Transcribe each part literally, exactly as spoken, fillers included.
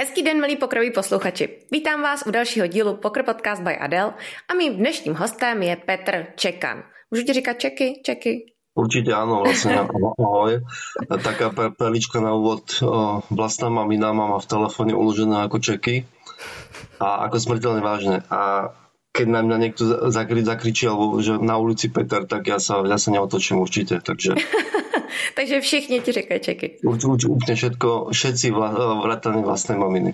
Hezký den, milí pokroví posluchači. Vítám vás u dalšího dílu Poker Podcast by Adele a mým dnešním hostem je Petr Čekan. Můžu ti říkat Čeky? Čeky? Určite áno, vlastne ahoj. Taká perlička na úvod. Vlastná mamina má v telefóne uložené ako Čeky a ako smrteľne vážne. A keď na mňa niekto zakri, zakričí alebo že na ulici Peter, tak ja sa, ja sa neotočím určite. Takže, takže všichni ti říkajú Čeky. Určite úplne všetko, všetci vrátane vlastnej maminy.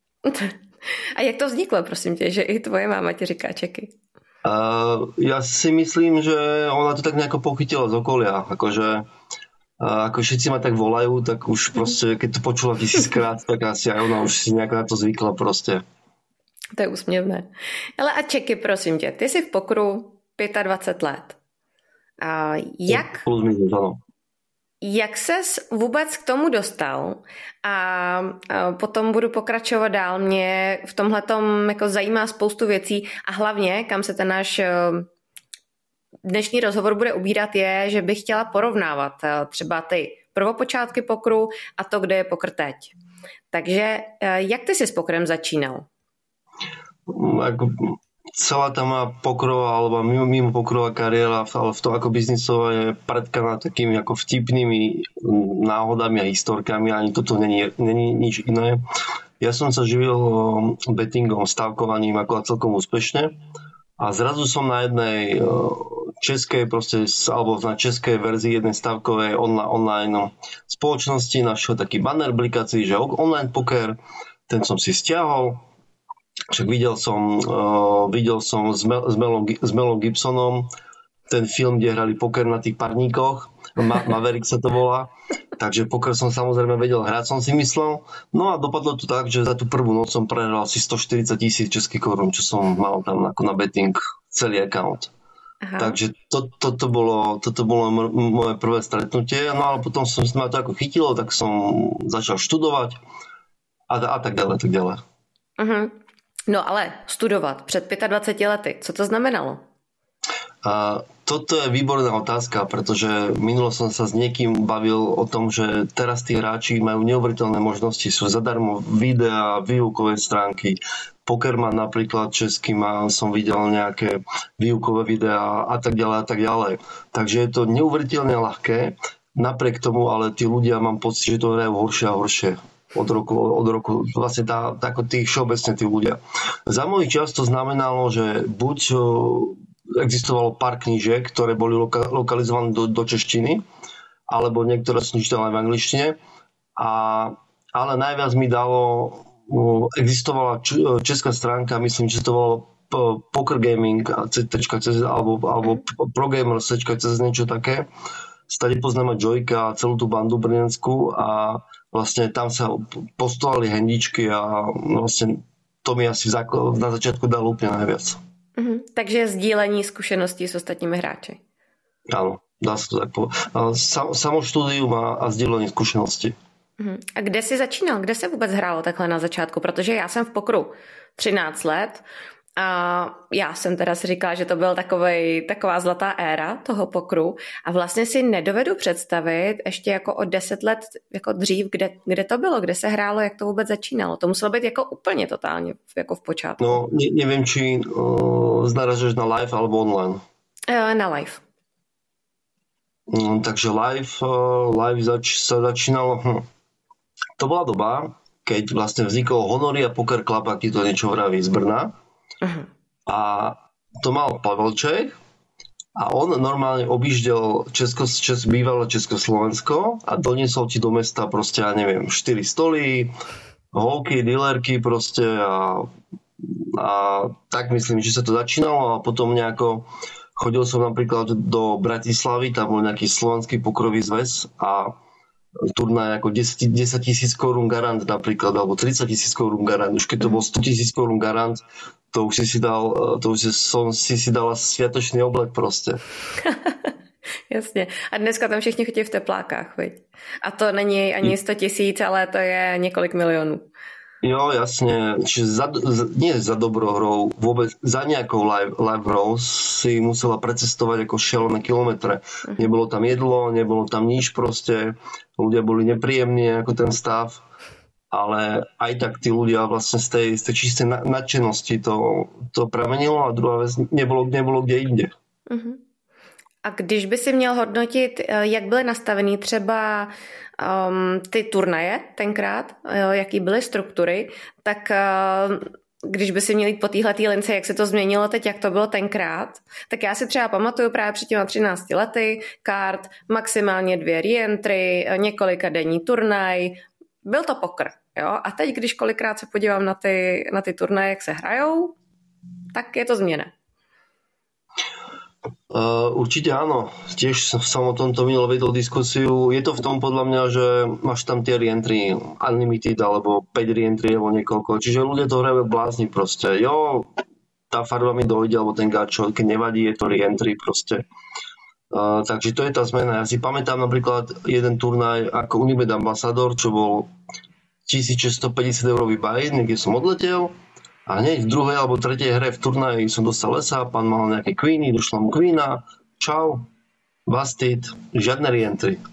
A jak to vzniklo, prosím tě, že i tvoje máma ti říká Čeky? Uh, ja si myslím, že ona to tak nejako pochytila z okolia. Akože uh, ako všetci ma tak volajú, tak už proste, keď to počula tisíckrát, tak asi aj ona už si nejak na to zvykla proste. To je úsměvné. Ale a Čeky, prosím tě, ty jsi v pokru dvacet pět let. A jak, Plus minus, ano. jak ses vůbec k tomu dostal? A, a potom budu pokračovat dál. Mě v tomhletom jako zajímá spoustu věcí a hlavně, kam se ten náš dnešní rozhovor bude ubírat, je, že bych chtěla porovnávat třeba ty prvopočátky pokru a to, kde je pokr teď. Takže jak ty jsi s pokrem začínal? Ako celá tá moja pokrová alebo mimo, mimo pokrová kariéra, ale v tom ako biznisová je predkaná takými ako vtipnými náhodami a historkami, ani toto není, není nič iné. Ja som sa živil bettingom, stávkovaním ako celkom úspešne a zrazu som na jednej českej proste, alebo na českej verzii jednej stávkovej online, online spoločnosti našiel taký banner blikací, že online poker, ten som si stiahol. Však videl som, uh, videl som s, Mel, s, Melom, s Melom Gibsonom ten film, kde hrali poker na tých parníkoch. Ma, Maverick sa to volá. Takže poker som samozrejme vedel hrať, som si myslel. No a dopadlo to tak, že za tú prvú noc som prehral asi stoštyridsať tisíc českých korún, čo som mal tam ako na betting celý account. Aha. Takže to, to, to bolo, toto bolo moje prvé stretnutie. No ale potom som ma to ako chytilo, tak som začal študovať a, a tak ďalej, tak ďalej. Uh-huh. No ale studovat před dvaceti pěti lety, co to znamenalo? A toto je výborná otázka, pretože minulo som sa s niekým bavil o tom, že teraz tí hráči majú neuveriteľné možnosti, sú zadarmo videá, výukové stránky, Pokerman napríklad český má, som videl nejaké výukové videá a tak ďalej a tak ďalej. Takže je to neuveriteľne ľahké, napriek tomu ale tí ľudia mám pocit, že to hrajú horšie a horšie. Od roku, od roku, vlastne tá, tako tí všeobecne tí ľudia. Za môj čas to znamenalo, že buď existovalo pár knížiek, ktoré boli loka, lokalizované do, do češtiny, alebo niektoré som čítal aj v angličtine, a, ale najviac mi dalo, existovala česká stránka, myslím, že to bolo Poker Gaming alebo, alebo Progamers, niečo také. Stade poznáme Joyka a celú tú bandu brněnsku a vlastne tam sa postovali handičky a vlastne to mi asi na začiatku dalo úplne najviac. Mm-hmm. Takže sdílení zkušeností s ostatními hráči. Áno, dá sa to tak povedať. Sam, samo štúdium a, a sdílení zkušeností. Mm-hmm. A kde jsi začínal? Kde se vůbec hrálo takhle na začátku? Protože já jsem v pokru třináct let a já jsem teda si říkala, že to byl takovej, taková zlatá éra toho pokru a vlastně si nedovedu představit ještě jako o deset let jako dřív, kde, kde to bylo, kde se hrálo, jak to vůbec začínalo. To muselo být jako úplně totálně jako v počátku. No, ne, nevím, či uh, znaražeš na live alebo online. Uh, na live. Um, takže live, uh, live zač- sa začínalo, hm. To bola doba, keď vlastne vznikol Honoria Poker Club, ak ti to niečo vraví, z Brna. Uh-huh. A to mal Pavelček a on normálne objíždel Česko, Čes, bývalé Československo a doniesol ti do mesta proste, ja neviem, štyri stoly, holky, dealerky proste a, a tak myslím, že sa to začínalo a potom nejako chodil som napríklad do Bratislavy, tam bol nejaký slovenský pokrový zväz a turnaj ako desať tisíc korún garant napríklad, alebo tridsať tisíc korún garant. Už keď to bol sto tisíc korún garant, to už si si dal, to už som si si dala sviatočný oblek proste. Jasně. A dneska tam všichni chodí v teplákách, viď? A to není ani sto tisíc, ale to je několik milionů. Jo, jasne. Čiže za, nie za dobrou hrou, vôbec za nejakou live, live hrou si musela precestovať ako šialené kilometre. Uh-huh. Nebolo tam jedlo, nebolo tam nič proste. Ľudia boli nepríjemní ako ten stav. ale aj tak tí ľudia vlastne z tej, z tej čistej nadšenosti to, to pramenilo a druhá vec, nebolo, nebolo kde inde. Uh-huh. A když by si měl hodnotit, jak byly nastavený třeba um, ty turnaje tenkrát, jaký byly struktury, tak uh, když by si měl jít po téhletý lince, jak se to změnilo teď, jak to bylo tenkrát, tak já si třeba pamatuju právě před těma třinácti lety kart, maximálně dvě reentry, několika denní turnaj, byl to poker. Jo? A teď, když kolikrát se podívám na ty, na ty turnaje, jak se hrajou, tak je to změna. Uh, určite áno, tiež som o tomto minul vedol diskusiu. Je to v tom podľa mňa, že máš tam tie reentry unlimited alebo päť reentry alebo niekoľko, čiže ľudia to hrajú blázni proste. Jo, tá farba mi dojde alebo ten gačo, keď nevadí, je to reentry proste. Uh, takže to je tá zmena. Ja si pamätám napríklad jeden turnaj ako Unibet Ambassador, čo bol tisícšesťstopäťdesiat eurový buy, niekde som odletel. A hneď v druhej alebo tretej hre v turnaji som dostal lesa, pán mal nejaké queeny, došla mu queena, čau, busted, žiadne reentry.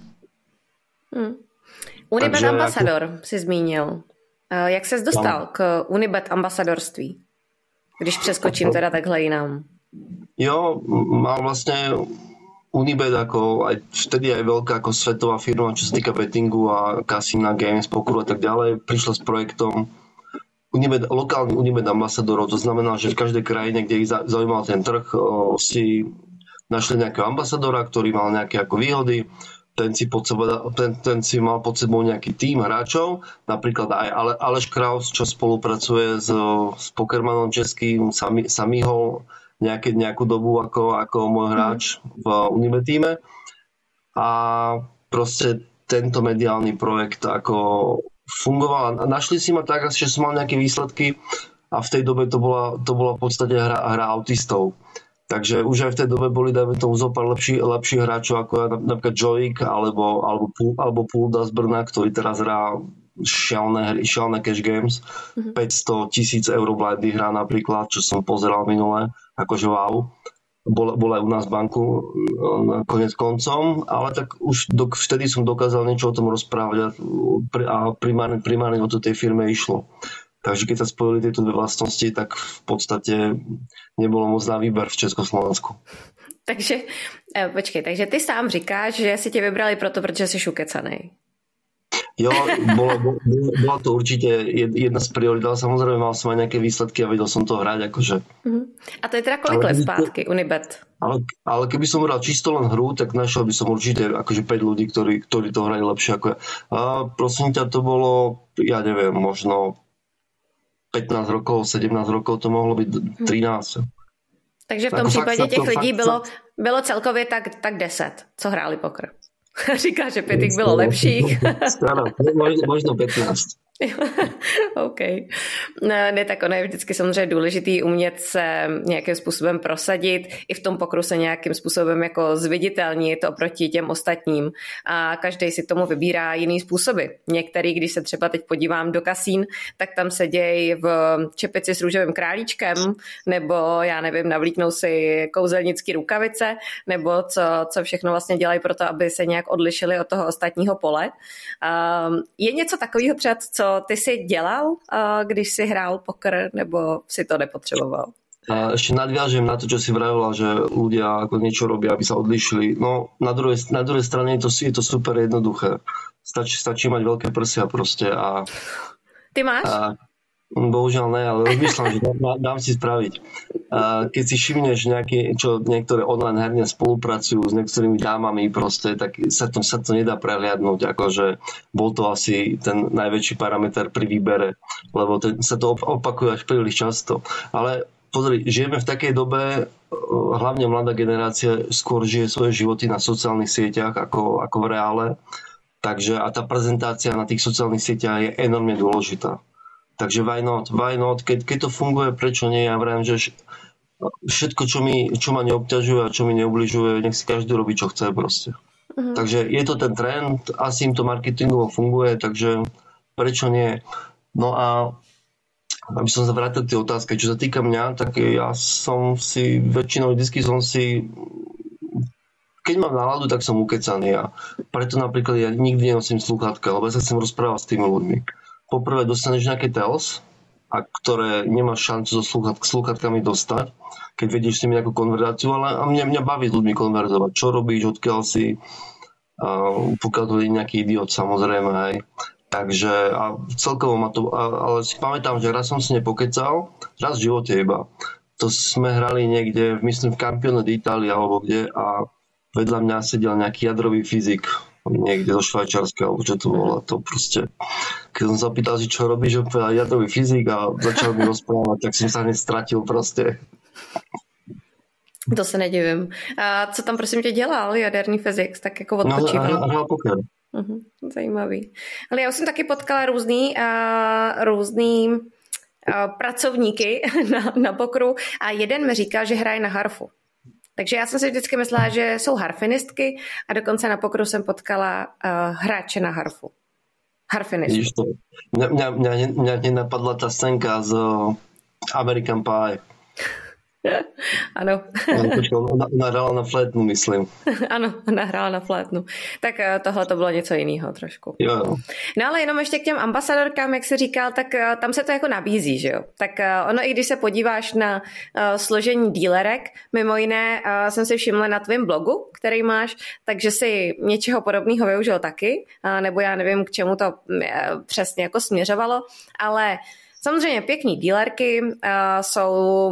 Hmm. Unibet Takže Ambassador ako... si zmínil. Jak ses dostal tam k Unibet ambasadorství? Když přeskočím teda takhle jinam. Jo, mám vlastne Unibet ako aj vtedy aj veľká ako svetová firma, čo sa týka bettingu a kasína, games, pokeru a tak ďalej, prišla s projektom Unibet, lokálny Unibet ambasadorov, to znamená, že v každej krajine, kde ich zaujímal ten trh, o, si našli nejakého ambasadora, ktorý mal nejaké ako výhody, ten si, pod sebe, ten, ten si mal pod sebou nejaký tím hráčov, napríklad aj Ale, Aleš Kraus, čo spolupracuje s, s pokermanom českým, sami, samýho nejaké, nejakú dobu ako, ako môj hráč v Unibet týme. A proste tento mediálny projekt ako fungoval a našli si ma tak, že som mal nejaké výsledky a v tej dobe to bola, to bola v podstate hra, hra autistov. Takže už aj v tej dobe boli, dajme tomu, zopár lepší, lepších hráčov ako napríklad Joik alebo, alebo, alebo Pulda z Brna, ktorý teraz hrá šialné hry, šialné cash games. Mm-hmm. päťsto tisíc eur blindy hrá napríklad, čo som pozeral minule, akože wow. Bol, bol aj u nás v banku na konec koncom, ale tak už do, vtedy som dokázal niečo o tom rozprávať a primárne, primárne o to tej firme išlo. Takže keď sa spojili tieto dve vlastnosti, tak v podstate nebolo moc na výber v Československu. Takže, počkej, takže ty sám říkáš, že si tě vybrali proto, protože jsi ukecanej. Jo, bola, bola to určite jedna z priorit, ale samozrejme mal som aj nejaké výsledky a vedel som to hrať. Akože. Uh-huh. A to je teda kolik let zpátky, Unibet? Ale, ale keby som hral čisto len hru, tak našiel by som určite akože päť ľudí, ktorí, ktorí to hrali lepšie ako ja. A prosím ťa, to bolo, ja neviem, možno pätnásť rokov, sedemnásť rokov, to mohlo byť trinásť. Takže v tom případě těch lidí bylo, bylo celkově tak, tak deset, co hráli poker. Říká, že pět bylo lepších. Možno pätnásť. OK. No, ne, tak ono je vždycky samozřejmě důležitý umět se nějakým způsobem prosadit, i v tom pokru se nějakým způsobem jako zviditelnit oproti těm ostatním a každý si tomu vybírá jiný způsoby. Některý, když se třeba teď podívám do kasín, tak tam se dějí v čepici s růžovým králíčkem, nebo já nevím, navlíknou si kouzelnický rukavice, nebo co, co všechno vlastně dělají pro to, aby se nějak odlišili od toho ostatního pole. Um, je něco takového třeba, co ty si dělal, když si hrál poker, nebo si to nepotřeboval? A ešte nadviažem na to, čo si vravila, že ľudia ako niečo robia, aby sa odlišili. No, na druhej, na druhej strane je to, je to super jednoduché. Stačí, stačí mať veľké prsia proste a... Ty máš? A, bohužiaľ ne, ale rozmýšľam, že dám, dám si spraviť. A keď si všimneš nejaké, čo niektoré online herne spolupracujú s niektorými dámami proste, tak sa to, sa to nedá prehliadnúť, akože bol to asi ten najväčší parameter pri výbere, lebo to, sa to opakuje až príliš často. Ale pozri, žijeme v takej dobe, hlavne mladá generácia skôr žije svoje životy na sociálnych sieťach ako, ako v reále, takže a tá prezentácia na tých sociálnych sieťach je enormne dôležitá. Takže why not, why not, keď, keď to funguje, prečo nie, ja vravím, že všetko, čo, mi, čo ma neobťažuje a čo mi neubližuje, nech si každý robí, čo chce proste. Uh-huh. Takže je to ten trend, asi im to marketingovo funguje, takže prečo nie. No a aby som sa vrátil k tej otázke, čo sa týka mňa, tak ja som si, väčšinou vždycky som si, keď mám náladu, tak som ukecaný a preto napríklad ja nikdy nenosím slúchatka, lebo ja sa chcem rozprávať s tými ľuďmi. poprvé dostaneš nejaké tells, a ktoré nemáš šancu so slúchat, slúchatkami dostať, keď vedieš s nimi nejakú konverzáciu, ale a mňa, mňa baví s ľuďmi konverzovať. Čo robíš, odkiaľ si, uh, pokiaľ to je nejaký idiot, samozrejme, hej. Takže a celkovo ma to, a, ale si pamätám, že raz som si nepokecal, raz v živote iba. To sme hrali niekde, myslím v Campione d'Italia alebo kde a vedľa mňa sedel nejaký jadrový fyzik, niekde do Švajčiarska, alebo čo to bolo, to proste. Keď som sa pýtal, že čo robíš, že povedal jadrový fyzik a začal mi rozprávať, tak som sa hneď stratil proste. To se nedivím. A co tam prosím tě dělal, jaderný fyzik, tak jako odpočíval? No, hrál poker. Uh-huh, zajímavý. Ale já už jsem taky potkala různý, uh, různý uh, pracovníky na, na pokru a jeden mi říkal, že hraje na harfu. Takže já jsem si vždycky myslela, že jsou harfinistky a dokonce na pokru jsem potkala uh, hráče na harfu. Harfinistku. Mňa, mňa, mňa, mňa nenapadla tá scénka z American Pie. Ano. Ona, ona hrála na flétnu, myslím. Ano, ona hrála na flétnu. Tak tohle to bylo něco jiného trošku. Jo, jo. No ale jenom ještě k těm ambasadorkám, jak jsi říkal, tak tam se to jako nabízí, že jo? Tak ono, i když se podíváš na uh, složení dílerek, mimo jiné uh, jsem si všimla na tvém blogu, který máš, takže si něčeho podobného využil taky, uh, nebo já nevím, k čemu to uh, přesně jako směřovalo, ale samozřejmě pěkný dílerky uh, jsou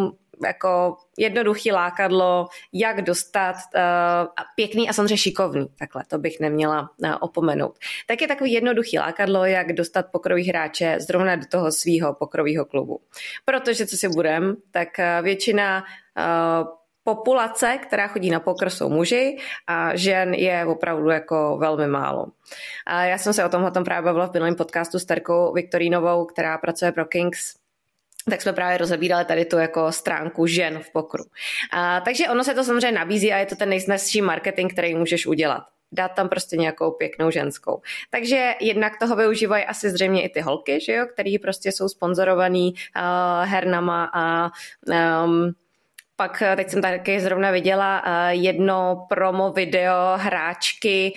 jako jednoduchý lákadlo, jak dostat uh, pěkný a samozřejmě šikovný, takhle, to bych neměla uh, opomenout. Tak je takový jednoduchý lákadlo, jak dostat pokrový hráče zrovna do toho svýho pokrovýho klubu. Protože, co si budem, tak uh, většina uh, populace, která chodí na poker, jsou muži a žen je opravdu jako velmi málo. A já jsem se o tomhle právě bavila v minulém podcastu s Terkou Viktorínovou, která pracuje pro Kings, tak jsme právě rozebírali tady tu jako stránku žen v pokru. A, takže ono se to samozřejmě nabízí a je to ten nejsnazší marketing, který můžeš udělat. Dát tam prostě nějakou pěknou ženskou. Takže jednak toho využívají asi zřejmě i ty holky, že jo, který prostě jsou sponzorovaný uh, hernama a um, pak teď jsem taky zrovna viděla jedno promo video hráčky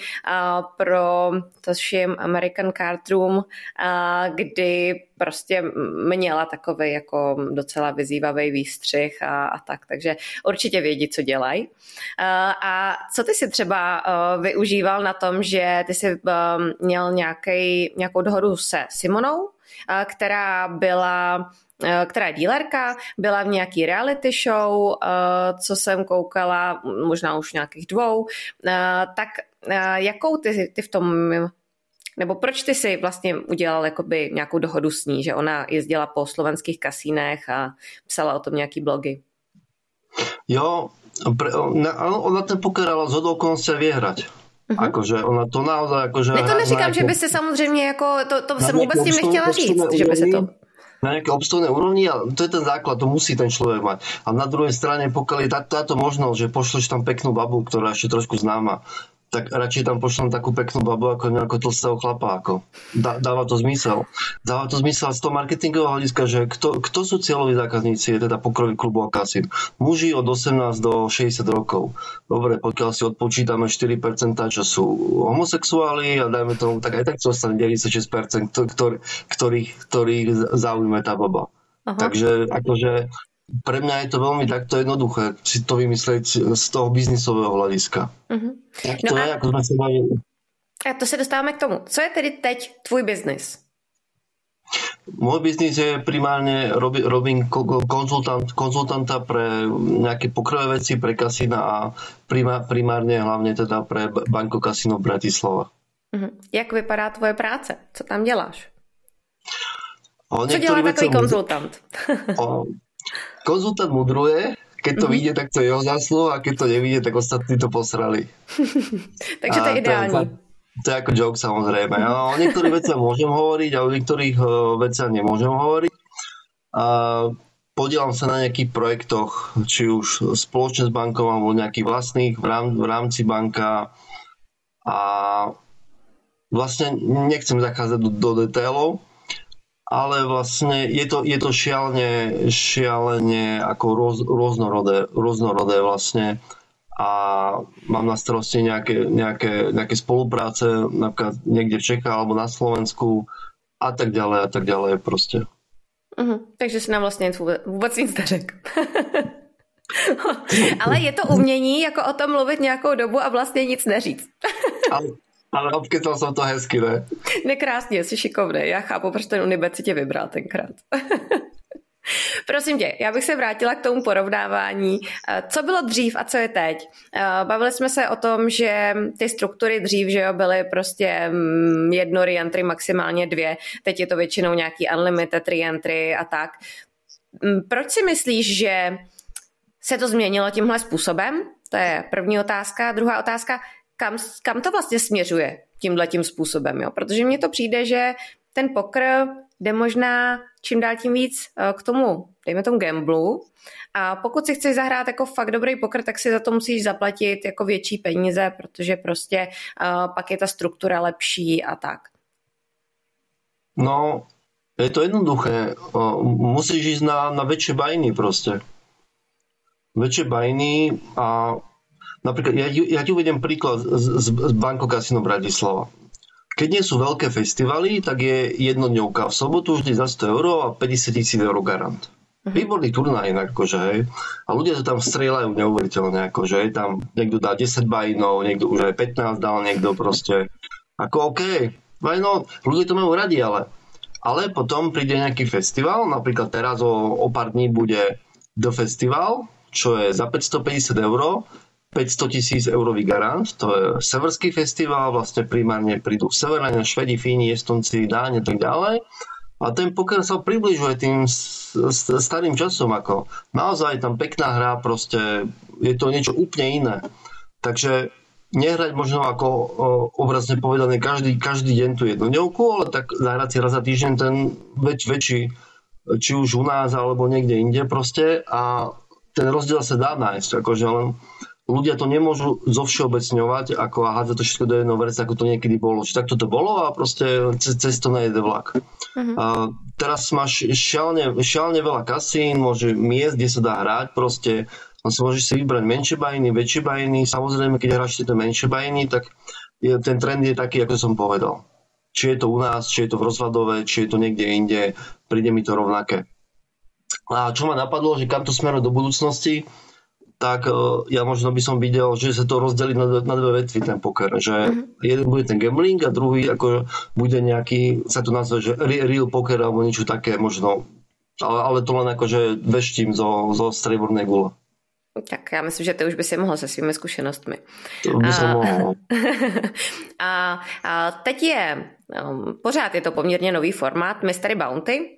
pro to všim American Card Room, kdy prostě měla takový jako docela vyzývavý výstřih a, a tak, takže určitě vědí, co dělají. A co ty si třeba využíval na tom, že ty jsi měl nějaký, nějakou dohodu se Simonou, která byla která je dílerka, byla v nějaký reality show, co jsem koukala, možná už nějakých dvou, tak jakou ty, ty v tom, nebo proč ty si vlastně udělal jakoby nějakou dohodu s ní, že ona jezdila po slovenských kasínech a psala o tom nějaký blogy? Jo, pre, ona ten poker ale zhodou okolností vie hrať. Uh-huh. Akože ona to naozaj... Akože ne, to neříkám, že by se samozřejmě jako, to, to jsem vůbec tím nechtěla říct, že by se to... Na nejaké obstojné úrovni a to je ten základ, to musí ten človek mať. A na druhej strane, pokiaľ je táto možnosť, že pošleš tam peknú babu, ktorá ešte trošku známa, tak radšej tam pošlem takú peknú babu ako nejakého tlstého chlapa. Ako. Dá, dáva to zmysel. Dáva to zmysel z toho marketingového hľadiska, že kto, kto sú cieľoví zákazníci, je teda pokrový klubu a kasín. Muži od osemnásť do šesťdesiat rokov. Dobre, pokiaľ si odpočítame štyri percentá, čo sú homosexuáli a dajme tomu, tak aj tak to ostane deväťdesiatšesť percent, ktorý, ktorých, ktorých zaujíme tá baba. Aha. Takže akože pre mňa je to veľmi takto jednoduché si to vymyslieť z toho biznisového hľadiska. Uh-huh. Tak to no je, a, ako sme sa bavili. A to se dostáváme k tomu. Co je tedy teď tvůj biznis? Môj biznis je primárne, robi, robím konzultant, konzultanta pre nejaké pokrové veci, pre kasína a primár, primárne hlavne teda pre Banko Kasino Bratislava. Uh-huh. Jak vypadá tvoje práce? Co tam děláš? O, Co dělá takový konzultant? O, konzultant mudruje, keď to mm-hmm. vyjde, tak to je jeho zásluha a keď to nevyjde, tak ostatní to posrali. Takže to je ideální. To je, to je ako joke, samozrejme. Ja o niektorých veciach môžem hovoriť a o niektorých uh, veciach nemôžem hovoriť. A podielam sa na nejakých projektoch, či už spoločne s bankou alebo nejakých vlastných v, rám, v rámci banka. A vlastne nechcem zachádzať do, do detailov, ale vlastne je to, je to šialene, šialene ako roz, rôznorodé, rôznorodé vlastne a mám na starosti nejaké, nejaké, nejaké spolupráce napríklad niekde v Čechách alebo na Slovensku a tak ďalej a tak ďalej proste. Uh-huh. Takže si nám vlastně vůbec, vůbec nic neřekl. Ale je to umění, jako o tom mluvit nějakou dobu a vlastně nic neříct. ale, ale obkytal jsem to hezky, ne? Nekrásně, jsi šikovný. Já chápu, proč ten Unibet si tě vybral tenkrát. Prosím tě, já bych se vrátila k tomu porovnávání. Co bylo dřív a co je teď? Bavili jsme se o tom, že ty struktury dřív, že jo, byly prostě jedno reentry, maximálně dvě. Teď je to většinou nějaký unlimited reentry a tak. Proč si myslíš, že se to změnilo tímhle způsobem? To je první otázka. Druhá otázka, kam, kam to vlastně směřuje tímhletím způsobem? Jo? Protože mně to přijde, že ten poker jde možná čím dál tím víc k tomu, dejme tomu gamblu. A pokud si chceš zahrát jako fakt dobrý poker, tak si za to musíš zaplatit jako větší peníze, protože prostě uh, pak je ta struktura lepší a tak. No, je to jednoduché. Musíš ísť na, na väčšie bajny proste. Väčšie bajny a napríklad, ja, ja ti uvediem príklad z, z Banko Casino Bratislava. Keď nie sú veľké festivaly, tak je jednodňovka v sobotu vždy za sto eur a päťdesiat tisíc eur garant. Uh-huh. Výborný turnaj, akože, hej. A ľudia to tam strieľajú neuveriteľne, akože, hej. Tam niekto dá desať bajnov, niekto už aj pätnásť dal, niekto proste. Ako OK, bajno, ľudia to majú radi, ale ale potom príde nejaký festival, napríklad teraz o, o pár dní bude The Festival, čo je za päťstopäťdesiat eur, päťsto tisíc eurový garant, to je severský festival, vlastne primárne prídu Severania, Švedi, Fíni, Estonci, Dáni a tak ďalej. A ten poker sa približuje tým starým časom, ako naozaj tam pekná hra, proste je to niečo úplne iné. Takže nehrať možno ako o, obrazne povedané každý, každý deň tú jednodňovku, ale tak zahrať si raz za týždeň ten väč, väčší, či už u nás alebo niekde inde proste a ten rozdiel sa dá nájsť, akože len ľudia to nemôžu zovšeobecňovať ako a hádzať to všetko do jedného verca, ako to niekedy bolo. Či takto to bolo a proste cez, cez to nejde vlak. Uh-huh. A teraz máš šialne, šialne veľa kasín, môže miest, kde sa dá hrať, proste on si môžeš si vybrať menšie bajiny, väčšie bajiny. Samozrejme, keď hráš tie menšie bajiny, tak je, ten trend je taký, ako som povedal. Či je to u nás, či je to v Rozvadove, či je to niekde inde, príde mi to rovnaké. A čo ma napadlo, že kam to smeruje do budúcnosti, tak uh, ja možno by som videl, že sa to rozdelí na, na dve vetvy ten poker. Že mm-hmm. jeden bude ten gambling a druhý ako bude nejaký, sa to nazve, že real poker alebo niečo také možno. Ale, ale to len akože veštím zo, zo striebornej gule. Tak já myslím, že ty už by si mohl se svými zkušenostmi. To by som mohl. a, a teď je, um, pořád je to poměrně nový formát Mystery Bounty.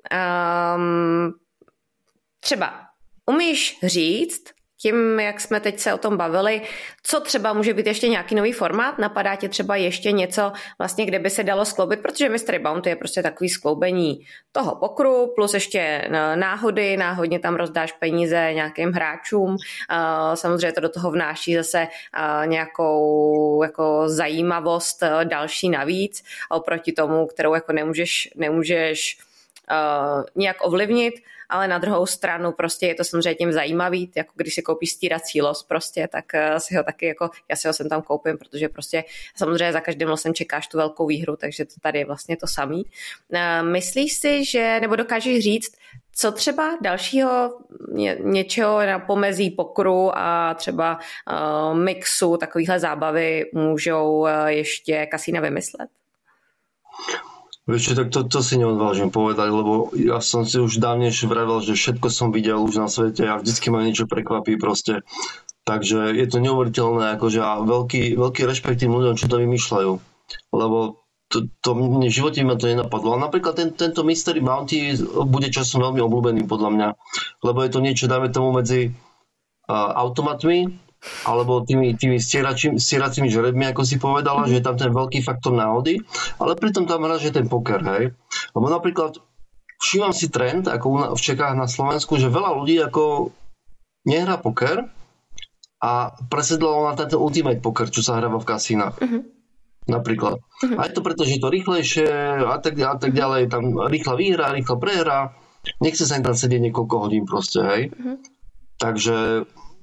Um, třeba umíš říct, tím, jak jsme teď se o tom bavili, co třeba může být ještě nějaký nový formát? Napadá tě třeba ještě něco, vlastně, kde by se dalo skloubit, protože Mystery Bounty je prostě takový skloubení toho pokru, plus ještě náhody, náhodně tam rozdáš peníze nějakým hráčům, samozřejmě to do toho vnáší zase nějakou jako zajímavost další navíc, oproti tomu, kterou jako nemůžeš, nemůžeš nějak ovlivnit, ale na druhou stranu prostě je to samozřejmě tím zajímavý, jako když si koupíš stírací los prostě, tak si ho taky jako, já si ho sem tam koupím, protože prostě samozřejmě za každým losem čekáš tu velkou výhru, takže to tady je vlastně to samý. Myslíš si, že, nebo dokážeš říct, co třeba dalšího ně, něčeho na pomezí pokru a třeba uh, mixu takovýhle zábavy můžou uh, ještě kasína vymyslet? Vieš, tak to, to si neodvážim povedať, lebo ja som si už dávnejšie vravel, že všetko som videl už na svete a vždycky ma niečo prekvapí proste. Takže je to neuveriteľné, akože a veľký, veľký rešpekt tým ľuďom, čo to vymýšľajú. Lebo to, to v živote ma to nenapadlo. A napríklad ten, tento Mystery Bounty bude časom veľmi obľúbený podľa mňa, lebo je to niečo, dáme tomu medzi uh, automatmi, alebo tými, tými stieracími žrebmi, ako si povedala, mm. že je tam ten veľký faktor náhody, ale pritom tam hráš ten poker, hej. Lebo napríklad všímam si trend, ako v Čechách na Slovensku, že veľa ľudí ako nehrá poker a presedlalo na ten ultimate poker, čo sa hráva v kasínach. Mm-hmm. Napríklad. Mm-hmm. A je to preto, že je to rýchlejšie a tak, a tak ďalej, tam rýchla výhra, rýchla prehra, nechce sa im tam sedieť niekoľko hodín proste, hej. Mm-hmm. Takže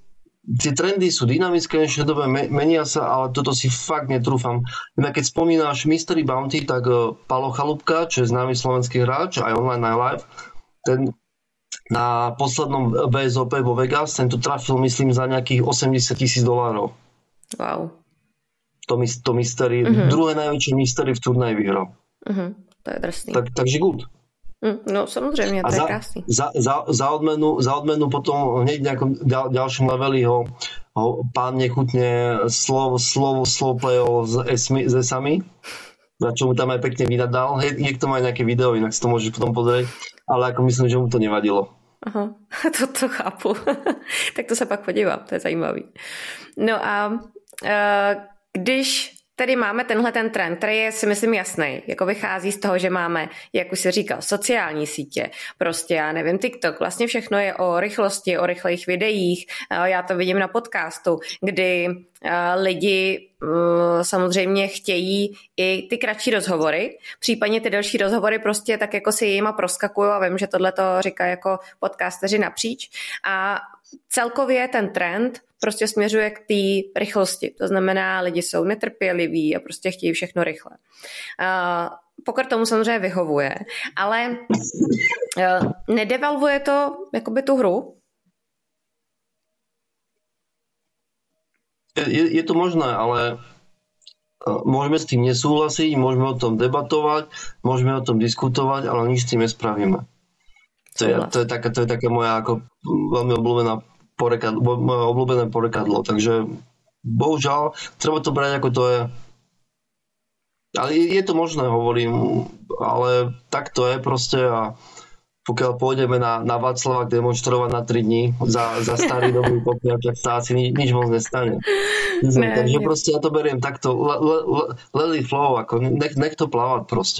tie trendy sú dynamické, dnešnej dobe menia sa, ale toto si fakt netrúfam. Inak keď spomínaš Mystery Bounty, tak Palo Chalúbka, čo je známy slovenský hráč, aj online, aj live, ten na poslednom vé es ó pé vo Vegas, ten to trafil, myslím, za nejakých osemdesiat tisíc dolárov. Wow. To, to mystery, uh-huh. druhé najväčšie mystery v turnaji vyhral. Uh-huh. To je drsný. Tak, takže good. No samozřejmě, to a je za, krásný. Za, za, za, odmenu, za odmenu potom hneď v nejakom ďal, ďalšom leveli ho, ho pán nechutne slov, slov, slov playol s esami, na čo mu tam aj pekne vynadal. Hej, je k tomu aj nejaké video, inak si to môžeš potom pozrieť, ale ako myslím, že mu to nevadilo. Aha, to, to chápu. Tak to se pak podívám, to je zajímavý. No a uh, když tady máme tenhle ten trend, který je si myslím jasný, jako vychází z toho, že máme, jak už si říkal, sociální sítě, prostě já nevím, TikTok, vlastně všechno je o rychlosti, o rychlých videích, já to vidím na podcastu, kdy lidi samozřejmě chtějí i ty kratší rozhovory, případně ty delší rozhovory prostě tak jako si jima proskakují a vím, že tohle to říká jako podcasteři napříč a celkově ten trend prostě směřuje k té rychlosti. To znamená, lidi jsou netrpěliví a prostě chtějí všechno rychle. Uh, Poker tomu samozřejmě vyhovuje, ale uh, nedevalvuje to jakoby tu hru? Je, je to možné, ale môžeme s tým nesúhlasiť, môžeme o tom debatovať, môžeme o tom diskutovať, ale nič s tým nespravíme. To je, to je, taká, to je taká moja ako veľmi obľúbená porekadlo, moje obľúbené porekadlo. Takže bohužiaľ, treba to brať ako to je. Ale je to možné, hovorím, ale tak to je proste a pokiaľ pôjdeme na, na Václavák demonštrovať na tri dní za, za starý dobrý popier, tak sa asi ni, nič moc nestane. Ne, Takže ne. proste ja to beriem takto, le, le, le, let it flow, ako nech, nech to plávať proste.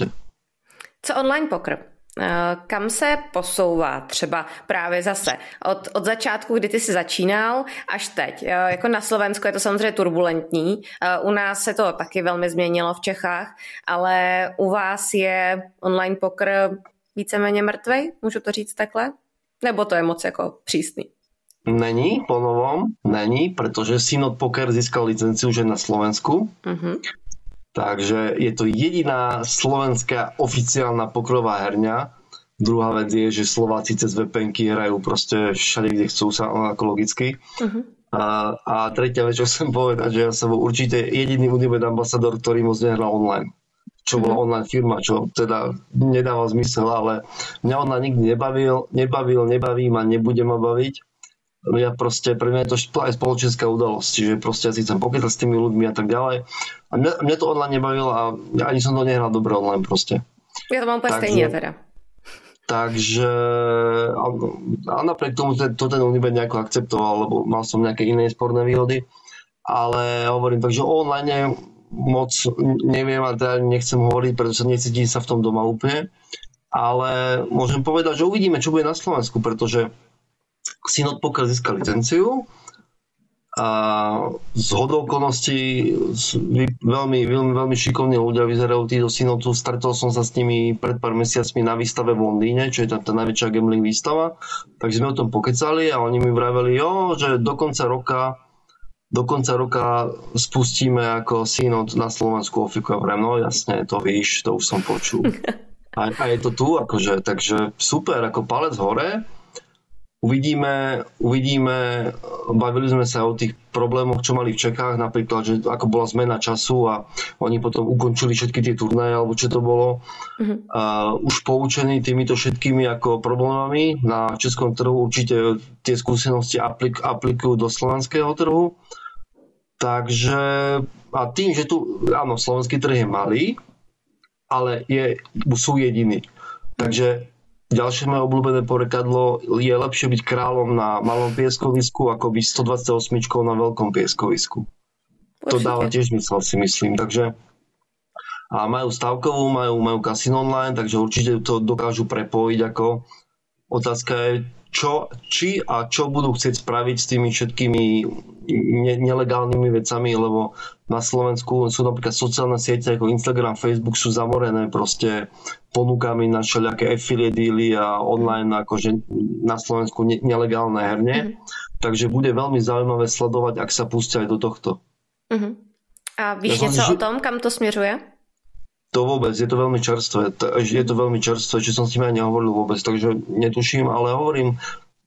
Co online poker? Kam se posouvá třeba právě zase od, od začátku, kdy ty jsi začínal, až teď? Jako na Slovensku je to samozřejmě turbulentní, u nás se to taky velmi změnilo v Čechách, ale u vás je online poker víceméně mrtvej, můžu to říct takhle? Nebo to je moc jako přísný? Není, po novom, není, pretože Synod Poker získal licenciu už na Slovensku. Uh-huh. Takže je to jediná slovenská oficiálna pokrová herňa. Druhá vec je, že Slováci cez vé pé enky hrajú proste všade, kde chcú sa ako logicky. Uh-huh. A, a tretia vec, čo chcem povedať, že ja som bol určite jediný Unibet ambasador, ktorý moc nehral online. Čo bola online firma, čo teda nedáva zmysel, ale mňa ona nikdy nebavil, nebavil, nebaví ma, nebude ma baviť. Ja proste, pre mňa je to aj spoločenská udalosť, čiže proste ja si chcem pokýtať s tými ľuďmi a tak ďalej. A mňa, mňa to online nebavilo a ani som to nehral dobre online proste. Ja to mám úplne stejne teda. Takže a, a napriek tomu to, to ten Unibet nejako akceptoval, lebo mal som nejaké iné sporné výhody, ale hovorím, takže online moc neviem a teda nechcem hovoriť, pretože necítim sa v tom doma úplne, ale môžem povedať, že uvidíme, čo bude na Slovensku, pretože Synod Poker získal licenciu a z hodou okolností veľmi, veľmi, veľmi šikovní ľudia vyzerajú tí do Synodu. Stretol som sa s nimi pred pár mesiacmi na výstave v Londýne, čo je tá, tá najväčšia gambling výstava, takže sme o tom pokecali a oni mi vraveli, jo, že do konca roka do konca roka spustíme ako Synod na Slovensku ofiku. Ja no jasne, to víš, to už som počul. A, a je to tu, akože, takže super, ako palec hore. Uvidíme, uvidíme, bavili sme sa o tých problémoch, čo mali v Čechách, napríklad, že ako bola zmena času a oni potom ukončili všetky tie turnaje, alebo čo to bolo. Uh-huh. Uh, už poučení týmito všetkými ako problémami na českom trhu, určite tie skúsenosti aplik- aplikujú do slovenského trhu. Takže a tým, že tu, áno, slovenský trh je malý, ale je, sú jediní. Takže ďalšie moje obľúbené porekadlo je lepšie byť kráľom na malom pieskovisku, ako byť stodvadsaťosem na veľkom pieskovisku. Určite. To dáva tiež mysel, si myslím. Takže a majú stavkovú, majú, majú kasino online, takže určite to dokážu prepojiť ako Otázka je, čo, či a čo budú chcieť spraviť s tými všetkými ne- nelegálnymi vecami, lebo na Slovensku sú napríklad sociálne siete ako Instagram, Facebook sú zamorené proste ponukami na všelijaké affiliate dealy a online akože na Slovensku ne- nelegálne herne. Mm-hmm. Takže bude veľmi zaujímavé sledovať, ak sa pustia aj do tohto. Mm-hmm. A víš ja něco som, o tom, kam to směřuje? To vôbec, je to veľmi čerstvé. Je to veľmi čerstvé, čo som s tým aj nehovoril vôbec, takže netuším, ale hovorím,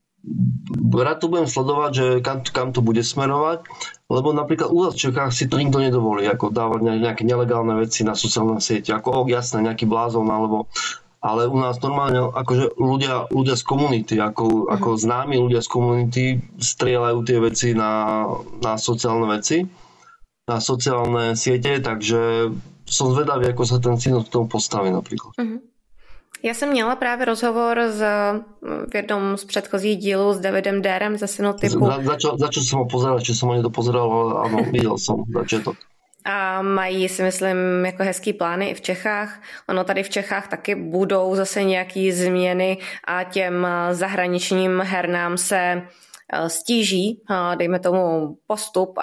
rád to budem sledovať, že kam, kam to bude smerovať, lebo napríklad u nás v Čechách si to nikto nedovolí, ako dávať nejaké nelegálne veci na sociálne siete, ako oh, jasné, nejaký blázon, alebo ale u nás normálne akože ľudia, ľudia z komunity, ako, ako známi ľudia z komunity strieľajú tie veci na, na sociálne veci, na sociálne siete, takže som zvedavý, ako sa ten synod k tomu postaví například. Uh-huh. Já jsem měla právě rozhovor s, v jednom z předchozích dílů s Davidem Dérem ze Synotypu. Za, začal, začal jsem ho pozerať, či jsem ho nedopozeral, ale ano, viděl jsem začiatok. A mají, si myslím, jako hezký plány i v Čechách. Ono tady v Čechách taky budou zase nějaký změny a těm zahraničním hernám se stíží, dejme tomu, postup a,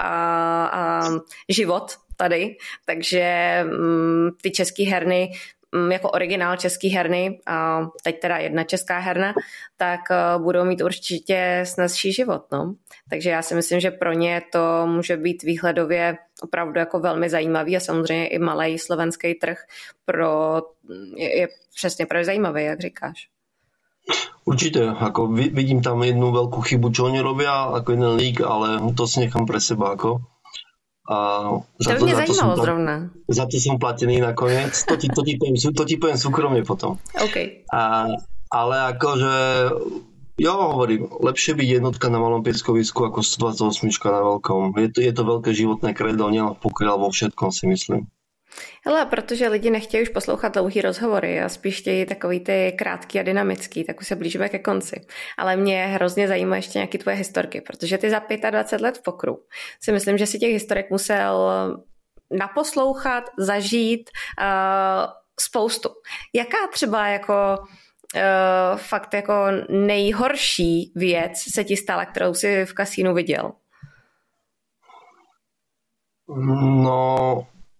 a život tady, takže m, ty český herny, m, jako originál český herny, a teď teda jedna česká herna, tak uh, budou mít určitě snazší život, no. Takže já si myslím, že pro ně to může být výhledově opravdu jako velmi zajímavý a samozřejmě i malej slovenský trh pro, je, je přesně pro zajímavý, jak říkáš. Určite, ako vidím tam jednu veľkú chybu, čo oni robia, ako jeden lík, ale to si nechám pre seba, ako. A za to, to, za, to som, zrovna. za to som platený nakoniec. To ti, to ti, poviem, to ti poviem súkromne potom. Okay. A, ale akože, ja hovorím, lepšie byť jednotka na malom pieskovisku ako stodvadsaťosem na veľkom. Je to, je to veľké životné kredo, nielen v pokoji, ale vo všetkom si myslím. Hele, protože lidi nechtějí už poslouchat dlouhý rozhovory a spíš chtějí takový ty krátký a dynamický, tak už se blížíme ke konci. Ale mě hrozně zajímá ještě nějaké tvoje historky, protože ty za dvacet pět let v pokru si myslím, že si těch historek musel naposlouchat, zažít uh, spoustu. Jaká třeba jako uh, fakt jako nejhorší věc se ti stala, kterou jsi v kasínu viděl? No...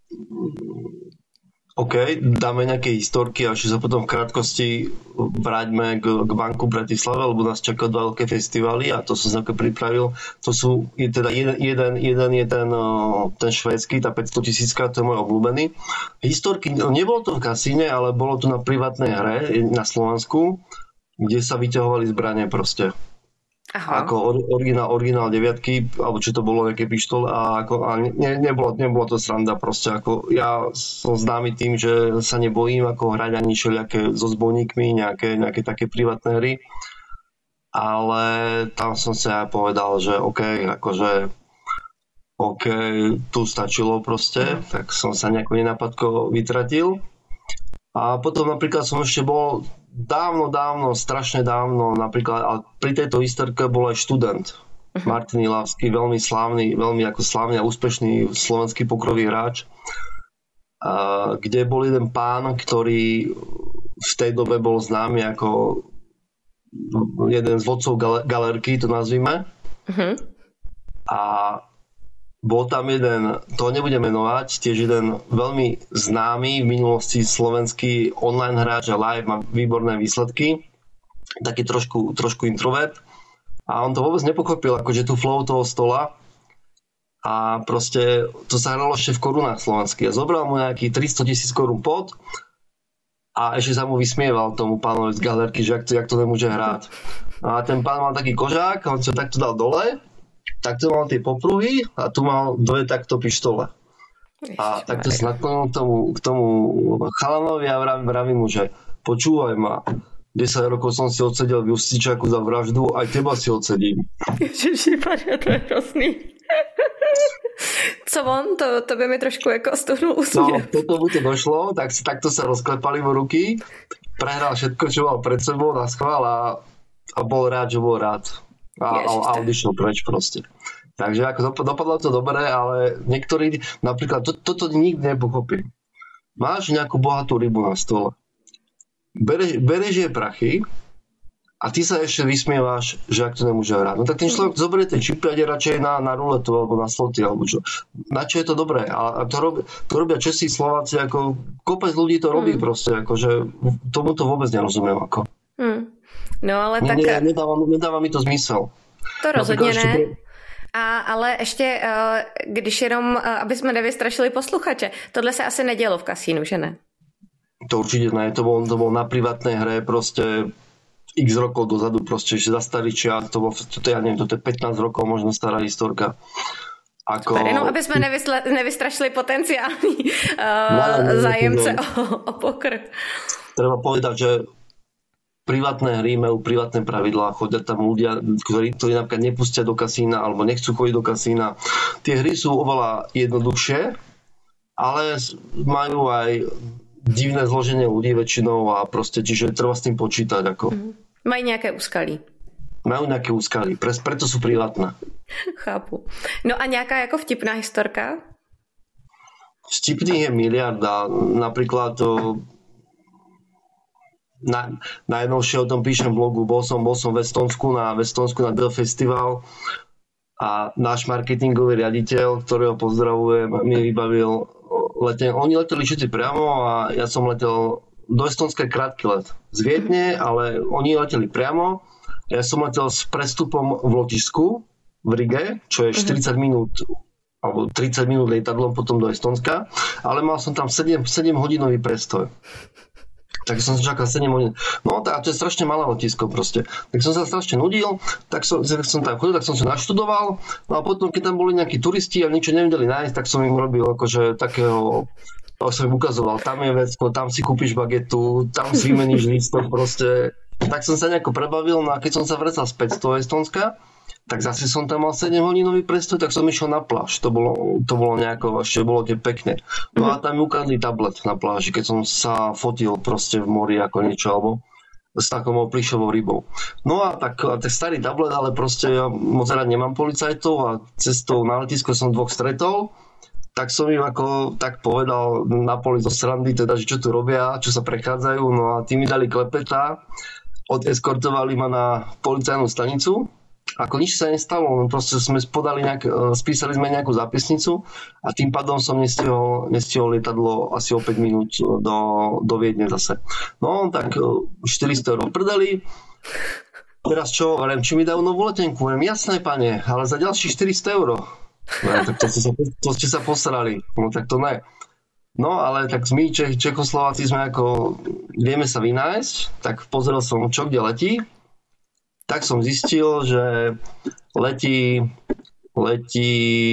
OK, dáme nejaké historky a ešte sa potom v krátkosti vráťme k, k Banku Bratislave, lebo nás čakajú dva veľké festivaly a to som sa pripravil. To sú, je teda jeden, jeden, jeden je ten, ten švédsky, tá päťstotisícka, to je môj obľúbený. Historky, nebolo to v kasíne, ale bolo to na privátnej hre na Slovensku, kde sa vyťahovali zbranie proste. Aha. Ako originál, originál deviatky, alebo čo to bolo, nejaké pištole a, ako, a ne, nebolo, nebolo to sranda proste, ako ja som známy tým, že sa nebojím ako hrať ani všelijaké so zbojníkmi, nejaké, nejaké také privátne hry, ale tam som si aj povedal, že OK, akože OK, tu stačilo proste, tak som sa nejako nenapadko vytratil a potom napríklad som ešte bol dávno, dávno, strašne dávno, napríklad, ale pri tejto historke bol aj študent uh-huh. Martin Ilavský, veľmi slávny, veľmi ako slávny a úspešný slovenský pokrový hráč, a, kde bol jeden pán, ktorý v tej dobe bol známy ako jeden z vodcov gal- galerky, to nazvime. Uh-huh. A bol tam jeden, to nebudem menovať, tiež jeden veľmi známy v minulosti slovenský online hráč a live, má výborné výsledky, taký trošku, trošku introvert a on to vôbec nepochopil, akože tu flow toho stola a proste to sa hralo ešte v korunách slovenských a zobral mu nejaký tristotisíc korún pod a ešte sa mu vysmieval tomu pánovi z galerky, že jak to, jak to nemôže hrať. A ten pán mal taký kožák, on sa takto dal dole, takto mal tie popruhy a tu mal dve takto pištole. A takto sa naklonil k tomu, k tomu chalanovi a vravím, vravím mu, že počúvaj ma, desať rokov som si odsedel v Justičáku za vraždu, aj teba si odsedím. Ježišipária, to je hrozný. Co on? To, to by mi trošku jako stuhnul úsměv. No, toto mu to došlo, tak takto sa rozklepali mu ruky, prehral všetko, čo mal pred sebou na schvál a, a bol rád, že bol rád. A, a odišiel preč proste. Takže ako dopadlo to dobre, ale niektorí, napríklad, to, toto nikdy nepochopí. Máš nejakú bohatú rybu na stole. Bereš, bereš jej prachy a ty sa ešte vysmievaš, že ak to nemôže hrať. No tak ten človek zoberie tie čipy a ide radšej na, na ruletu alebo na sloty, alebo čo. Na čo je to dobré? A, a to, robia, to robia Česi, Slováci, ako kopec ľudí to robí mm. proste, akože tomu to vôbec nerozumiem. Ako. Mm. No ale ne, tak... Ne, nedáva, nedáva mi to zmysel. To rozhodně ne. Pre... A, ale ještě, když jenom, aby jsme nevystrašili posluchače, tohle se asi nedělo v kasínu, že ne? To určite ne, to bol, to bol na privátnej hre proste x rokov dozadu, proste, že za starý čias, to bol, to, ja neviem, to je pätnásť rokov, možno stará historka. Ako... Super, jenom aby sme nevysle, nevystrašili potenciálny uh, zájemce o, o pokr. Treba povedať, že privátne hry majú privátne pravidlá, chodia tam ľudia, ktorí, ktorí napríklad nepustia do kasína alebo nechcú chodiť do kasína. Tie hry sú oveľa jednoduchšie, ale majú aj divné zloženie ľudí väčšinou a proste, čiže treba s tým počítať. Ako. Mm. Majú nejaké úskalí. Majú nejaké úskalí, preto sú privátne. Chápu. No a nejaká ako vtipná historka? Vtipných je miliarda. Napríklad to, na, najnovšie o tom píšem v blogu. Bol som, bol som v Estonsku na, v Estonsku na Dell Festival a náš marketingový riaditeľ, ktorého pozdravujem, mi vybavil leten. Oni leteli všetci priamo a ja som letel do Estonska krátky let. Z Viedne, ale oni leteli priamo. Ja som letel s prestupom v lotisku v Rige, čo je štyridsať minút alebo tridsať minút lietadlom potom do Estonska, ale mal som tam sedem, sedem hodinový prestoj. Tak som čakal sedem hodín. No tak to je strašne malé letisko proste. Tak som sa strašne nudil, tak som, som tam chodil, tak som sa naštudoval. No a potom, keď tam boli nejakí turisti a niečo nevedeli nájsť, tak som im robil akože takého, tak som im ukazoval, tam je vecko, tam si kúpiš bagetu, tam si vymeníš lístok proste. Tak som sa nejako prebavil, no a keď som sa vracal späť z toho Estonska, tak zase som tam mal sedem hodinový prestoj, tak som išiel na pláž. To bolo, to bolo nejako, ešte bolo tie pekné. No a tam mi ukázali tablet na pláži, keď som sa fotil proste v mori ako niečo, alebo s takou plišovou rybou. No a tak, a tak starý tablet, ale proste ja moc rád nemám policajtov a cestou na letisko som dvoch stretol, tak som im ako tak povedal na poli zo srandy, teda, že čo tu robia, čo sa prechádzajú, no a tí mi dali klepeta, odeskortovali ma na policajnú stanicu. Ako nič sa nestalo, proste sme podali nejak, spísali sme nejakú zápisnicu a tým pádom som nestihol, nestihol lietadlo asi o päť minút do, do Viedne zase. No tak štyristo eur predali. Teraz čo, hovorím, či mi dajú novú letenku? Hovorím, jasné, pane, ale za ďalších štyristo eur. No, tak to ste, sa, to ste sa posrali. No tak to ne. No ale tak my Čech, Čechoslováci sme ako, vieme sa vynájsť, tak pozrel som, čo kde letí. Tak som zistil, že letí, letí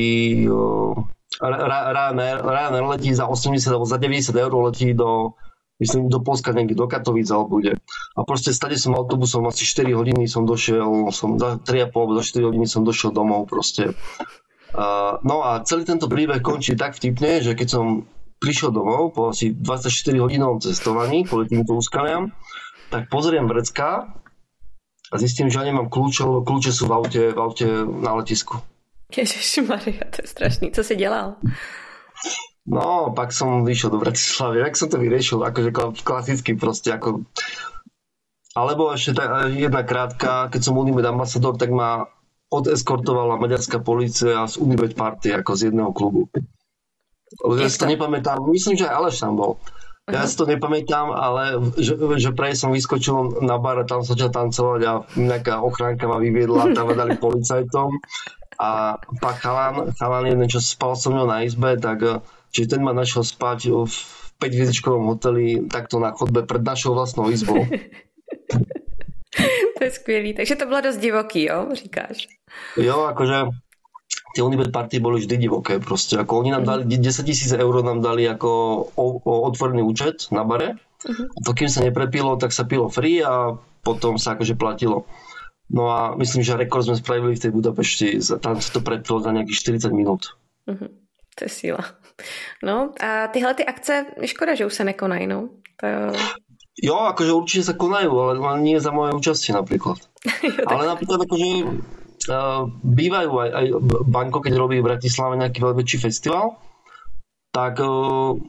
Ryanair letí za osemdesiat alebo za deväťdesiat eur letí do, myslím, do Polska, niekde do Katovíc alebo bude. A proste stade som autobusom asi štyri hodiny som došiel, som za tri a pol alebo za štyri hodiny som došiel domov proste. Uh, no a celý tento príbeh končí tak vtipne, že keď som prišiel domov po asi dvadsaťštyri hodinovom cestovaní kvôli týmto úskaliam, tak pozriem vrecká a zistím, že ja nemám kľúče, lebo kľúče sú v aute, v aute na letisku. Ježišmaria, to je strašný. Co si dělal? No, pak som vyšiel do Bratislavy. Jak som to vyriešil? Akože klasicky proste. Ako... Alebo ešte tá jedna krátka, keď som Unibet ambasador, tak ma odeskortovala maďarská polícia z Unibet party, ako z jedného klubu. Ja si to nepamätám. Myslím, že aj Aleš tam bol. Ja si to nepamätám, ale že, že prej som vyskočil na bar a tam sa začal tancovať a nejaká ochránka ma vyviedla, tam ma dali policajtom a pak chalan, chalan jeden, čo spal so mnou na izbe, tak čiže ten ma našiel spať v päťhviezdičkovom hoteli takto na chodbe pred našou vlastnou izbou. To je skvělý, takže to bylo dost divoký, jo, říkáš? Jo, akože tie Unibet party boli vždy divoké proste. Ako oni nám dali desaťtisíc eur nám dali ako o, o otvorený účet na bare. Uh-huh. A to kým sa neprepilo, tak sa pilo free a potom sa akože platilo. No a myslím, že rekord sme spravili v tej Budapešti. Tam sa to prepilo za nejakých štyridsať minút. Uh-huh. To je síla. No a tyhle ty akce, škoda, že už sa nekonají, no. To... Jo, akože určite sa konajú, ale nie za moje účastie napríklad. Jo, ale napríklad akože Uh, bývajú aj, aj Banko, keď robí v Bratislave nejaký veľmi väčší festival, tak uh,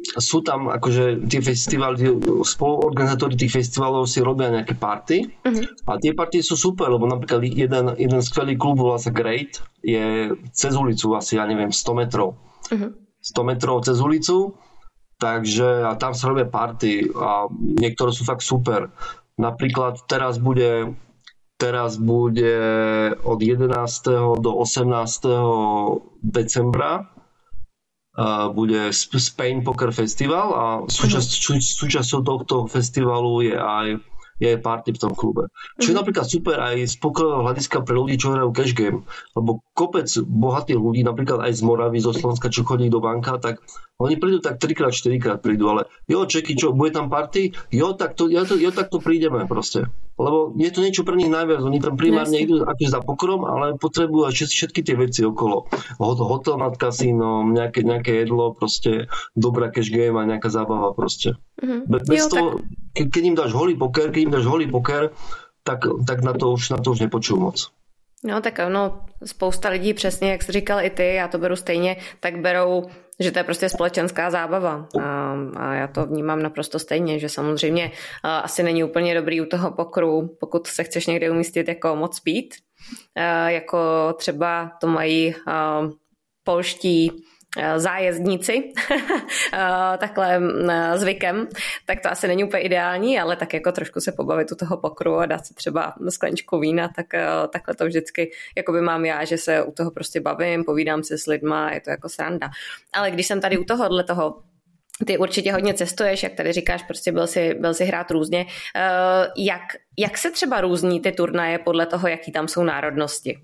sú tam akože tie festivály, spoluorganizátori tých festivalov si robia nejaké party uh-huh. a tie party sú super, lebo napríklad jeden, jeden skvelý klub volá sa Great, je cez ulicu asi, ja neviem, sto metrov. Uh-huh. sto metrov cez ulicu, takže a tam sa robia party a niektoré sú fakt super. Napríklad teraz bude teraz bude od jedenásteho do osemnásteho decembra Uh, bude Spain Poker Festival a súčasť, sú, súčasťou tohto festivalu je aj, je aj party v tom klube. Čo je mm-hmm. napríklad super aj z pokerového hľadiska pre ľudí, čo hrajú cash game. Lebo kopec bohatých ľudí, napríklad aj z Moravy, zo Slovenska, čo chodí do banka, tak oni prídu tak trikrát, štyrikrát prídu, ale jo, čeky, čo, bude tam party? Jo, tak to, jo, to, jo, tak to prídeme proste. Lebo je to niečo pre nich najviac. Oni tam primárne idú akože za pokerom, ale potrebujú aj všetky tie veci okolo. Hotel nad kasínom, nejaké, nejaké jedlo, proste dobrá cash game a nejaká zábava proste. Mm-hmm. Be, bez jo, toho, tak... keď im dáš holý poker, keď im dáš holý poker, tak, tak na to už, na to už nepočujú moc. No tak ono, spousta lidí přesně, jak jsi říkal i ty, já to beru stejně, tak berou, že to je prostě společenská zábava a, a já to vnímám naprosto stejně, že samozřejmě a, asi není úplně dobrý u toho pokru, pokud se chceš někde umístit jako moc pít, a, jako třeba to mají a, polští zájezdníci takhle zvykem, tak to asi není úplně ideální, ale tak jako trošku se pobavit u toho pokru a dát si třeba skleničku vína, tak takhle to vždycky jakoby mám já, že se u toho prostě bavím, povídám se s lidma, je to jako sranda. Ale když jsem tady u tohohle toho, ty určitě hodně cestuješ, jak tady říkáš, prostě byl si, byl si hrát různě. Jak, jak se třeba různí ty turnaje podle toho, jaký tam jsou národnosti?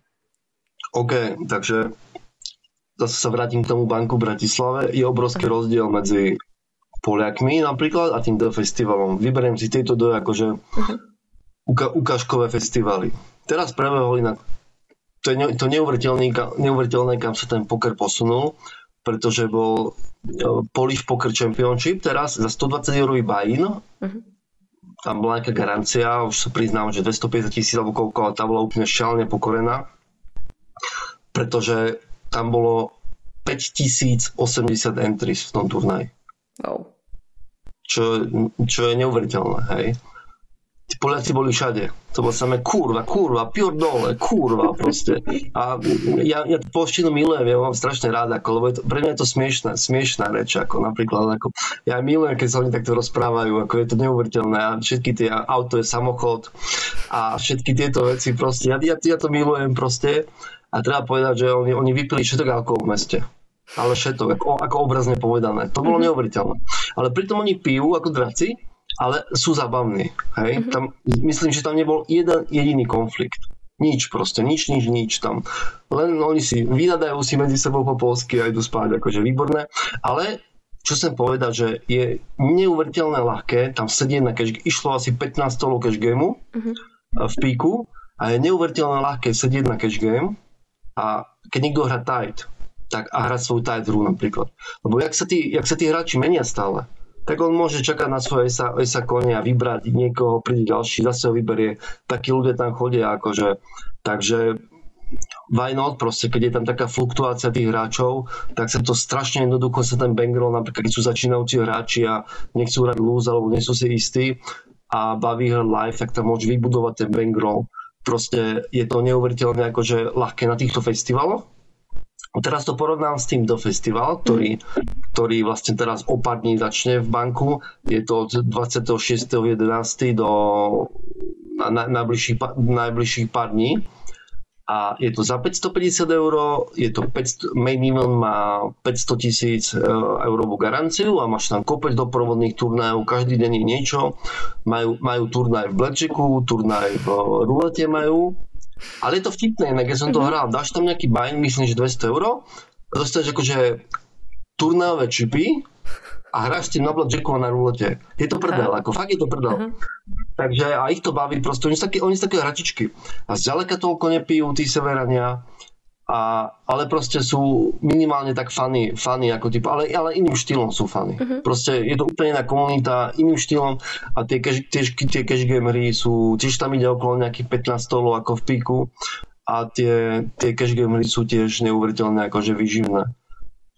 OK, takže zase sa vrátim k tomu banku v Bratislave. Je obrovský rozdiel medzi Poliakmi napríklad a týmto festivalom. Vyberiem si tieto dve akože uka- ukážkové festivaly. Teraz prebehol inak to je to neuveriteľné, kam sa ten poker posunul, pretože bol Polish Poker Championship teraz za stodvadsať eurový buy-in. Uh-huh. Tam bola nejaká garancia, už sa priznám, že dvestopäťdesiat tisíc alebo koľko, ale tá bola úplne šialne pokorená, pretože tam bolo päťtisícosemdesiat entries v tom turnaji. Oh. Čo, čo je neuveriteľné, hej. Tí Poliaci boli všade. To bolo samé kurva, kurva, pior dole, kurva proste. A ja, ja polštinu milujem, ja mám strašne rád, ako, lebo je to, pre mňa je to smiešná, smiešná reč, ako napríklad, ako, ja milujem, keď sa oni takto rozprávajú, ako je to neuveriteľné a všetky tie auto je samochod a všetky tieto veci proste, ja, ja, ja to milujem proste. A treba povedať, že oni, oni vypili všetok alkohol v meste. Ale všetok, ako, ako obrazne povedané. To bolo mm-hmm. neuveriteľné. Ale pritom oni pijú ako draci, ale sú zabavní. Hej? Mm-hmm. Tam, myslím, že tam nebol jeden jediný konflikt. Nič proste, nič, nič, nič tam. Len oni si vynadajú si medzi sebou po polsky a idú spať, akože výborné. Ale čo chcem povedať, že je neuveriteľné ľahké tam sedieť na cash, išlo asi pätnásť stolov cash gameu mm-hmm. v píku a je neuveriteľné ľahké sedieť na cash game a keď niekto hrá tight, tak a hrať svoju tight hru napríklad. Lebo jak sa tí, jak sa tí hráči menia stále, tak on môže čakať na svoje esa, esa kone a vybrať niekoho, príde ďalší, zase ho vyberie. Takí ľudia tam chodia, akože. Takže why not, proste, keď je tam taká fluktuácia tých hráčov, tak sa to strašne jednoducho sa ten bankroll, napríklad keď sú začínajúci hráči a nechcú hrať lose, alebo nie sú si istí a baví hrať live, tak tam môže vybudovať ten bankroll. Proste je to neuveriteľne akože ľahké na týchto festivaloch. Teraz to porovnám s týmto festival, ktorý, ktorý vlastne teraz o pár dní začne v banku. Je to od dvadsiateho šiesteho jedenásteho do na, na, najbližších, najbližších pár dní. A je to za päťstopäťdesiat eur, je to päťsto, main event má päťsto tisíc eurovú garanciu a máš tam kopec doprovodných turnajov, každý deň je niečo. Majú, majú turnaj v blackjacku, turnaj v rulete majú. Ale je to vtipné, inak keď som to hral, dáš tam nejaký buy-in, myslím, že dvesto eur, dostaneš akože turnajové čipy a hráš s tým na blackjacku a na rulete. Je to prdel, ako fakt je to prdel. Uh-huh. Takže a ich to baví, proste oni sú také, oni sú také hračičky. A zďaleka toľko nepijú tí severania, a, ale proste sú minimálne tak funny, funny ako typ, ale, ale iným štýlom sú funny. Uh-huh. Proste je to úplne iná komunita, iným štýlom a tie cash, tie, tie cash game hry sú, tiež tam ide okolo nejakých pätnásť stolov ako v píku a tie, tie cash game hry sú tiež neuveriteľné akože výživné.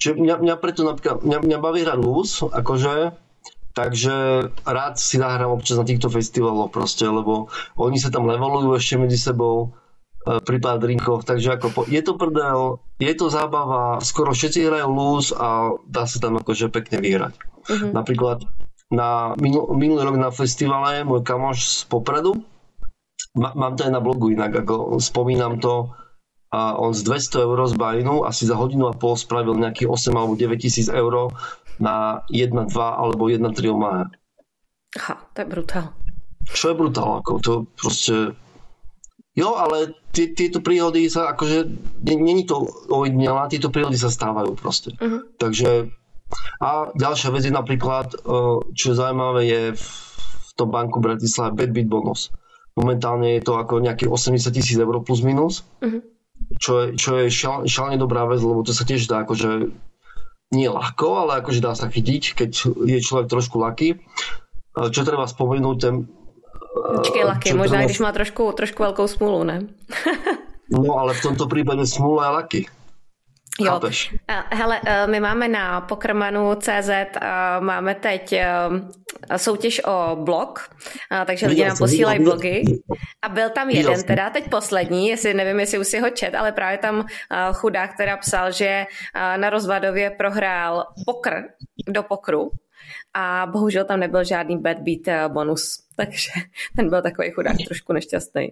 Čiže mňa, mňa preto napríklad, mňa, mňa baví hrať lúz, akože, takže rád si nahrám občas na týchto festivaloch proste, lebo oni sa tam levelujú ešte medzi sebou pri pár drinkoch, takže ako po, je to prdel, je to zábava, skoro všetci hrajú lúz a dá sa tam akože pekne vyhrať. Uh-huh. Napríklad na minul, minulý rok na festivale môj kamoš z Popradu, má, mám to aj na blogu inak, ako spomínam to, a on z dvesto eur z bajnu asi za hodinu a pol spravil nejakých osem alebo deväť tisíc eur na jedna dva alebo jedna tri Omaha. Aha, to je brutál. Čo je brutál, ako to proste... Jo, ale tí, tieto príhody sa akože, není to ojedinelá, tieto príhody sa stávajú proste. Uh-huh. Takže a ďalšia vec je napríklad, čo je zaujímavé, je v tom banku Bratislava Bad Beat bonus. Momentálne je to ako nejakých osemdesiat tisíc eur plus minus. Uh-huh. Čo je, čo je šal, šalene dobrá vec, lebo to sa tiež dá akože nie ľahko, ale akože dá sa chytiť, keď je človek trošku lucky. Čo treba spomenúť, ten... Počkej, lucky, možná treba... když má trošku, trošku veľkou smůlu, ne? No, ale v tomto prípade smůla je lucky. Jo, hele, my máme na pokrmanu tečka cé zet, máme teď soutěž o blog, takže lidi nám posílají blogy a byl tam jeden teda, teď poslední, jestli nevím, jestli už si ho čet, ale právě tam chudák teda psal, že na Rozvadově prohrál pokr do pokru a bohužel tam nebyl žádný bad beat bonus, takže ten byl takový chudák trošku nešťastný.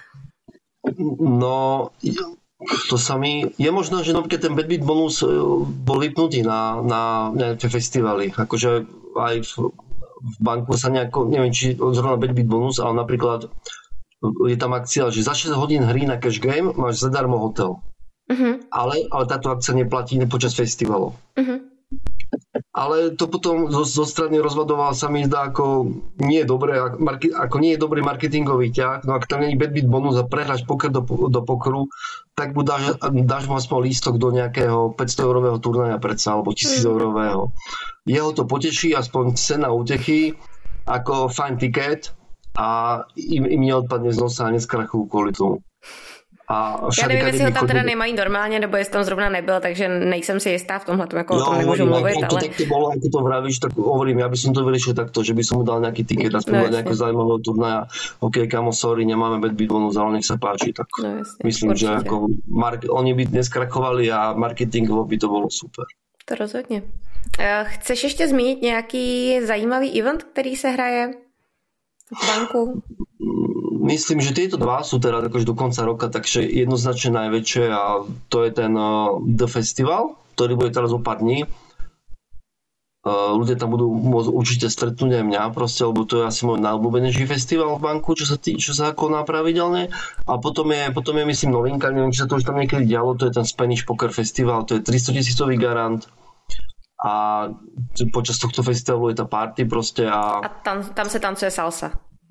No... To sa mi... Je možno, že napríklad ten Bad Beat bonus bol vypnutý na, na nejaké festivaly. Akože aj v, v banku sa nejako... Neviem, či zrovna Bad Beat bonus, ale napríklad je tam akcia, že za šesť hodín hry na cash game máš zadarmo hotel. Uh-huh. Ale, ale táto akcia neplatí počas festivalov. Uh-huh. Ale to potom zo, zo strany Rozvadova sa mi zdá ako nie je dobré, ako nie je dobrý marketingový ťah. No ak tam nie je bad beat bonus a prehráš poker do, do pokeru, tak mu dáš, dáš mu aspoň lístok do nejakého päťsto eurového turnaja predsa, alebo tisíc eurového. Jeho to poteší, aspoň cena útechy, ako fajn tiket a im, im neodpadne z nosa a neskrachujú kvôli tomu. A já nevím, jestli ho tam teda nemají normálně, nebo jestli tam zrovna nebyl, takže nejsem si jistá v tomhle, jako no, o tom nemůžu mluvit, ale... To, tak to bolo, ako to vravíš, tak hovorím, ja by som to vyriešil takto, že by som mu dal nejaký tiket a spomínal no, nejakého zaujímavého turnaja. OK, kamo, sorry, nemáme bad beat bonus, ale nech sa páči, tak no, jasne, myslím, určite. Že ako mark- oni by neskrakovali a marketingovo by to bolo super. To rozhodně. Chceš ještě zmínit nějaký zajímavý event, který se hraje v banku? Myslím, že tieto dva sú teda akože do konca roka, takže jednoznačne najväčšie a to je ten uh, The Festival, ktorý bude teraz o pár dní. Uh, ľudia tam budú môcť určite stretnúť aj mňa proste, lebo to je asi môj najobľúbenejší festival v banku, čo sa, tý, čo sa koná pravidelne. A potom je, potom je myslím novinka, neviem, či sa to už tam niekedy dialo, to je ten Spanish Poker Festival, to je tristotisícový garant. A počas tohto festivalu je tá party proste a... A tam, tam sa tancuje salsa.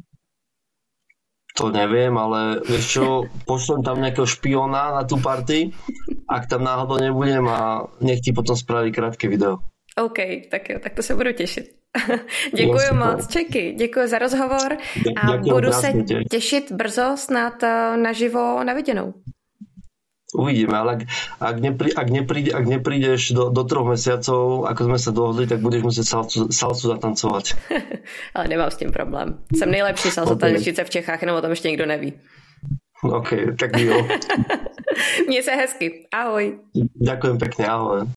To neviem, ale vieš čo, pošlem tam nejakého špiona na tú party, ak tam náhodou nebudem a nech ti potom spraví krátke video. OK, tak jo, tak to se budu těšit. Děkuji moc, Čeky, děkuji za rozhovor a Ďakujem, budu se těšit brzo snad naživo na viděnou. Uvidíme, ale ak, ak, neprí, ak, nepríde, ak neprídeš do, do troch mesiacov, ako sme sa dohodli, tak budeš musieť salsu, salsu zatancovať. Ale nemám s tím problém. Jsem nejlepší salsa okay. tanečnice v Čechách, jenom o tom ještě nikdo neví. OK, tak jo. Měj se hezky. Ahoj. Ďakujem pekne, ahoj.